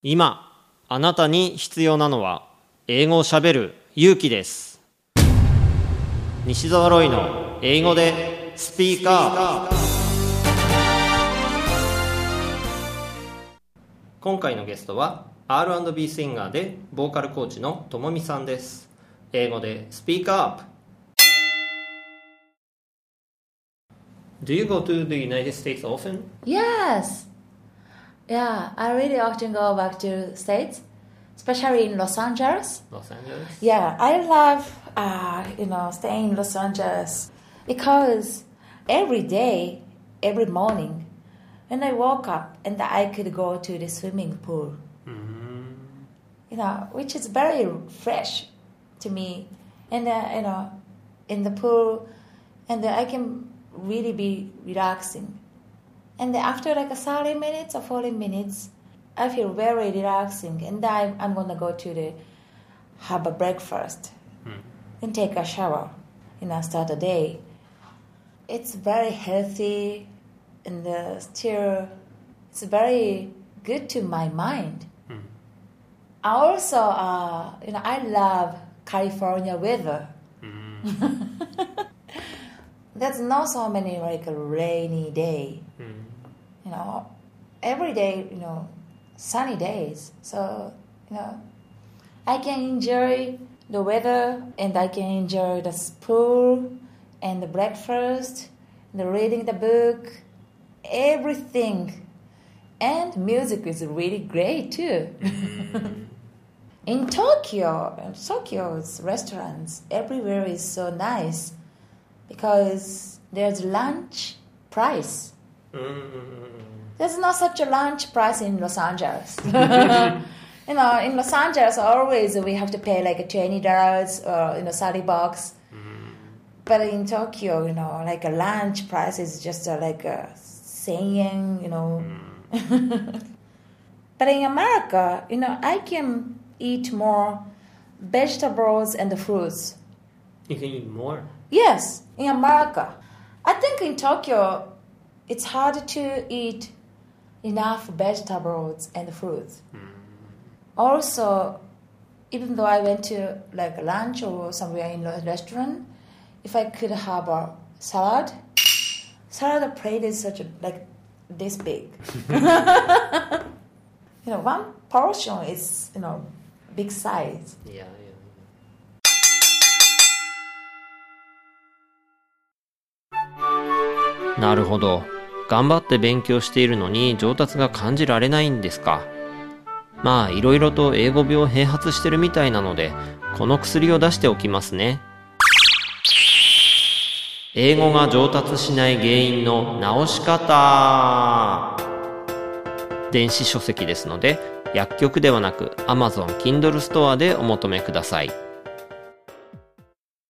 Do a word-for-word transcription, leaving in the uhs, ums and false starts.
今あなたに必要なのは英語をしゃべる勇気です。西澤ロイの英語でスピーカー。今回のゲストは アールアンドビー シンガーでボーカルコーチのともみさんです。英語でスピーカーアップ。 Do you go to the United States often? Yes. Yeah, I really often go back to States, especially in Los Angeles. Los Angeles? Yeah, I love, uh, you know, staying in Los Angeles because every day, every morning, when I woke up and I could go to the swimming pool, mm-hmm. you know, which is very fresh to me. And, uh, you know, in the pool, and I can really be relaxing. And after like thirty minutes or forty minutes, I feel very relaxing. And I, I'm going to go to the, have a breakfast mm. and take a shower, you know, start the day. It's very healthy and uh, still, it's very good to my mind. Mm. I also, uh, you know, I love California weather. Mm. There's not so many like a rainy day. Mm. You know, every day, you know, sunny days. So, you know, I can enjoy the weather and I can enjoy the pool and the breakfast, the reading the book, everything. And music is really great too. Mm. In Tokyo, Tokyo's restaurants everywhere is so nice because there's lunch price. Mm. There's not such a lunch price in Los Angeles. You know, in Los Angeles, always we have to pay like twenty dollars or, you know, thirty bucks. Mm. But in Tokyo, you know, like a lunch price is just uh, like a ten yen, you know. Mm. But in America, you know, I can eat more vegetables and fruits. You can eat more? Yes, in America. I think in Tokyo, it's hard to eat enough vegetables and fruits. Mm. Also, even though I went to like lunch or somewhere in a restaurant, if I could have a salad, salad plate is such a, like this big. You know, one portion is, you know, big size. Yeah, yeah. yeah. なるほど。頑張って勉強しているのに上達が感じられないんですか。まあいろいろと英語病併発してるみたいなので、この薬を出しておきますね。英語が上達しない原因の直し方。電子書籍ですので、薬局ではなく Amazon Kindle ストアでお求めください。